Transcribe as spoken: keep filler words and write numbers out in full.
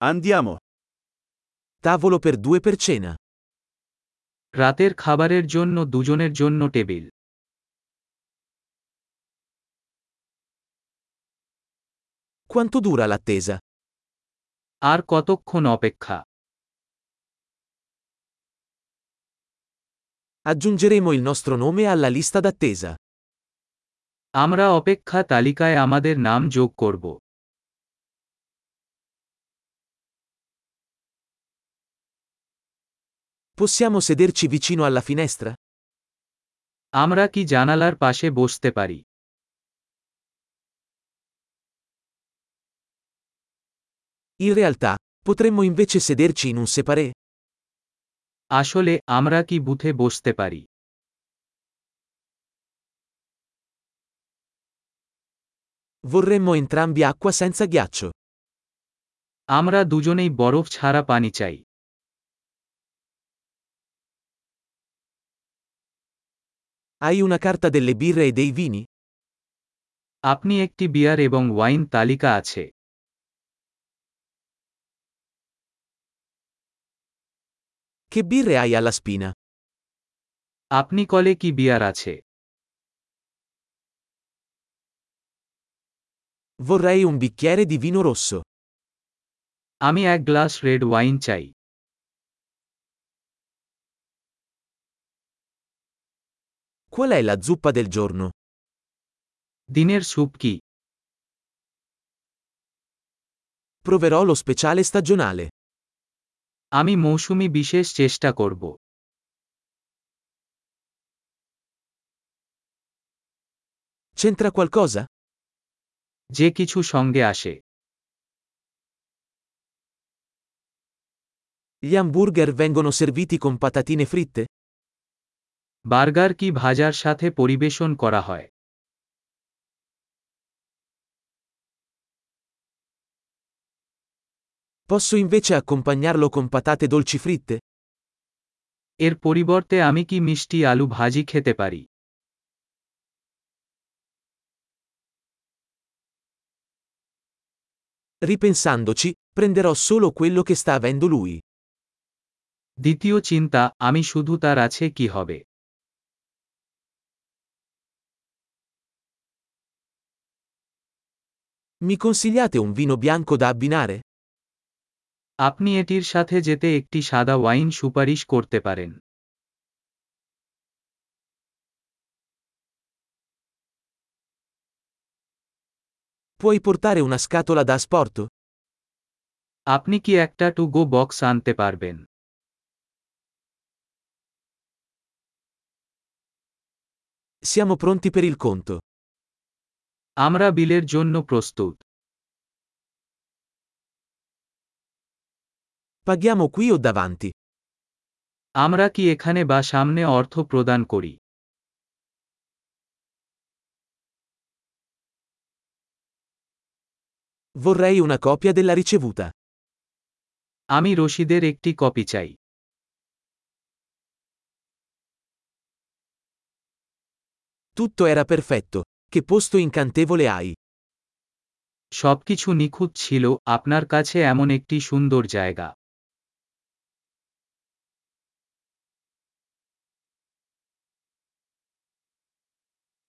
Andiamo. Tavolo per due per cena. রাতের খাবারের জন্য দুজনের জন্য টেবিল। Quanto dura l'attesa? আর কতক্ষণ অপেক্ষা? Aggiungeremo il nostro nome alla lista d'attesa. আমরা অপেক্ষা তালিকায় আমাদের নাম যোগ করব। Possiamo sederci vicino alla finestra? আমরা কি জানালার পাশে বসতে পারি? In realtà, potremmo invece sederci in un separé? আসলে আমরা কি বুথে বসতে পারি? Vorremmo entrambi acqua senza ghiaccio. আমরা দুজনেই বরফ ছাড়া পানি চাই। Hai una carta delle birre e dei vini? আপনি একটি বিয়ার এবং ওয়াইন তালিকা আছে। Che birre hai alla spina? আপনি কলে কি বিয়ার আছে? Vorrei un bicchiere di vino rosso. আমি এক গ্লাস রেড ওয়াইন চাই। Qual è la zuppa del giorno? দিনের স্যুপ কি? Proverò lo speciale stagionale. আমি মৌসুমী বিশেষ চেষ্টা করব। C'entra qualcosa? যে কিছু সঙ্গে আসে। Gli hamburger vengono serviti con patatine fritte? Burger কি ভাজার সাথে পরিবেশন করা হয়? Posso invece accompagnarlo con patate dolci fritte? এর পরিবর্তে আমি কি মিষ্টি আলু ভাজি খেতে পারি? Ripensandoci, prenderò solo quello che sta avendo lui. দ্বিতীয় চিন্তা, আমি শুধু তার আছে কি হবে। Mi consigliate un vino bianco da abbinare? আপনি এটির সাথে যেতে একটি সাদা ওয়াইন সুপারিশ করতে পারেন। Puoi portare una scatola da asporto? আপনি কি একটা টু গো বক্স আনতে পারবেন? Siamo pronti per il conto. আমরা বিলের জন্য প্রস্তুত। Paghiamo qui o davanti? আমরা কি এখানে বা সামনে অর্থ প্রদান করি? Vorrei una copia della ricevuta. আমি রসিদের একটি কপি চাই। Tutto era perfetto. Che posto incantevole hai. সবকিছু নিখুঁত ছিল, আপনার কাছে এমন একটি সুন্দর জায়গা।